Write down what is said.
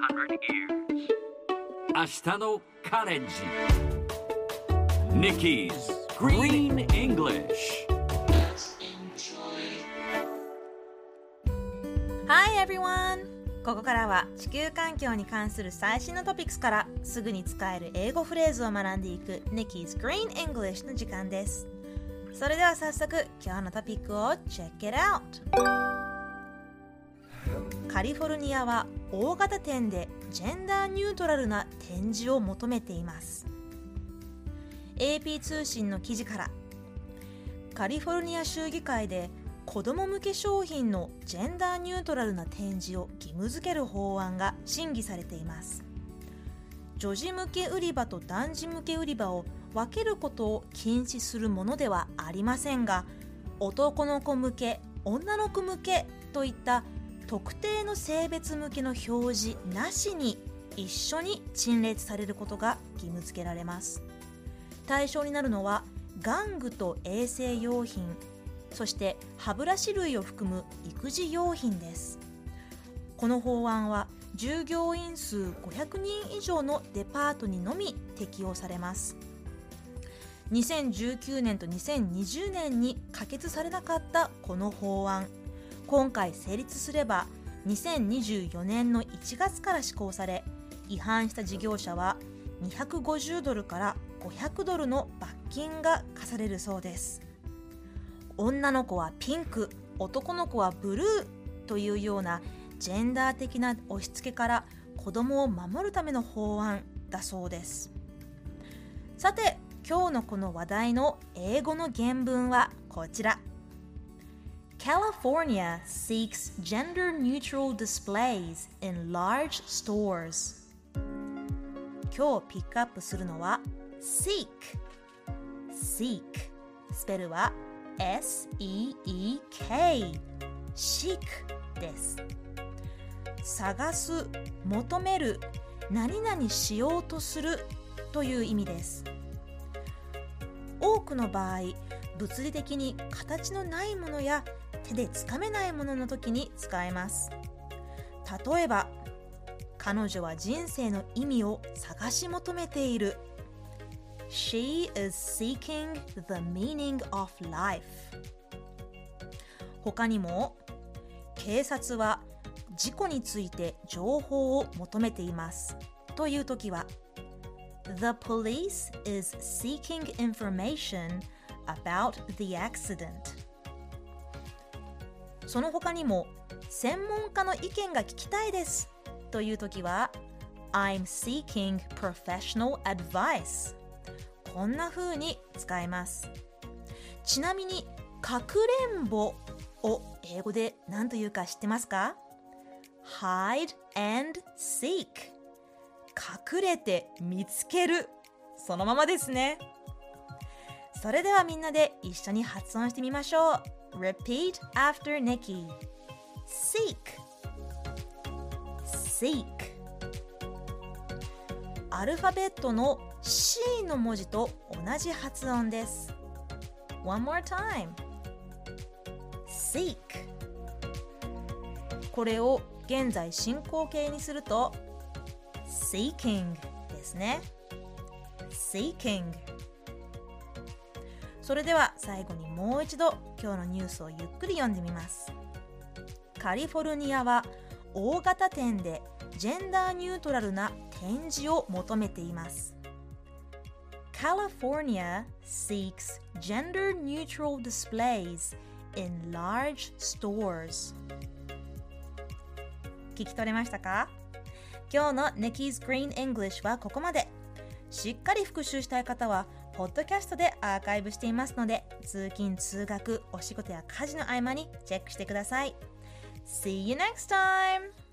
明日のカレンジ Nikki's Green English Hi everyone! ここからは地球環境に関する最新のトピックスからすぐに使える英語フレーズを学んでいく Nikki's Green English の時間です。それでは早速今日のトピックを Check it out! カリフォルニアは大型店でジェンダーニュートラルな展示を求めています。 AP 通信の記事から、カリフォルニア州議会で子ども向け商品のジェンダーニュートラルな展示を義務付ける法案が審議されています。女児向け売り場と男児向け売り場を分けることを禁止するものではありませんが、男の子向け、女の子向けといった特定の性別向けの表示なしに一緒に陳列されることが義務付けられます。対象になるのは玩具と衛生用品、そして歯ブラシ類を含む育児用品です。この法案は従業員数500人以上のデパートにのみ適用されます。2019年と2020年に可決されなかったこの法案、今回成立すれば2024年の1月から施行され、違反した事業者は$250から$500の罰金が課されるそうです。女の子はピンク、男の子はブルーというようなジェンダー的な押し付けから子供を守るための法案だそうです。さて、今日のこの話題の英語の原文はこちら。California seeks gender-neutral displays in large stores. 今日ピックアップするのは seek。seek スペルは S-E-E-K seek です。探す、求める、何々しようとするという意味です。多くの場合、物理的に形のないものや手でつかめないものの時に使えます。例えば、彼女は人生の意味を探し求めている。She is seeking the meaning of life. 他にも、警察は事故について情報を求めていますという時は、The police is seeking information about the accident. その他にも、専門家の意見が聞きたいですというときは I'm seeking professional advice. こんな風に使えます。ちなみに、かくれんぼを英語で何というか知ってますか？ Hide and seek. 隠れて見つける。そのままですね。それではみんなで一緒に発音してみましょう。Repeat after Nikki. Seek. Seek. アルファベットの C の文字と同じ発音です。One more time. Seek. これを現在進行形にすると Seeking ですね。Seeking。それでは最後にもう一度今日のニュースをゆっくり読んでみます。カリフォルニアは大型店でジェンダーニュートラルな展示を求めています。California seeks gender-neutral displays in large stores. 聞き取れましたか？今日の Nikki's Green English はここまで。しっかり復習したい方はポッドキャストでアーカイブしていますので、通勤・通学、お仕事や家事の合間にチェックしてください。See you next time!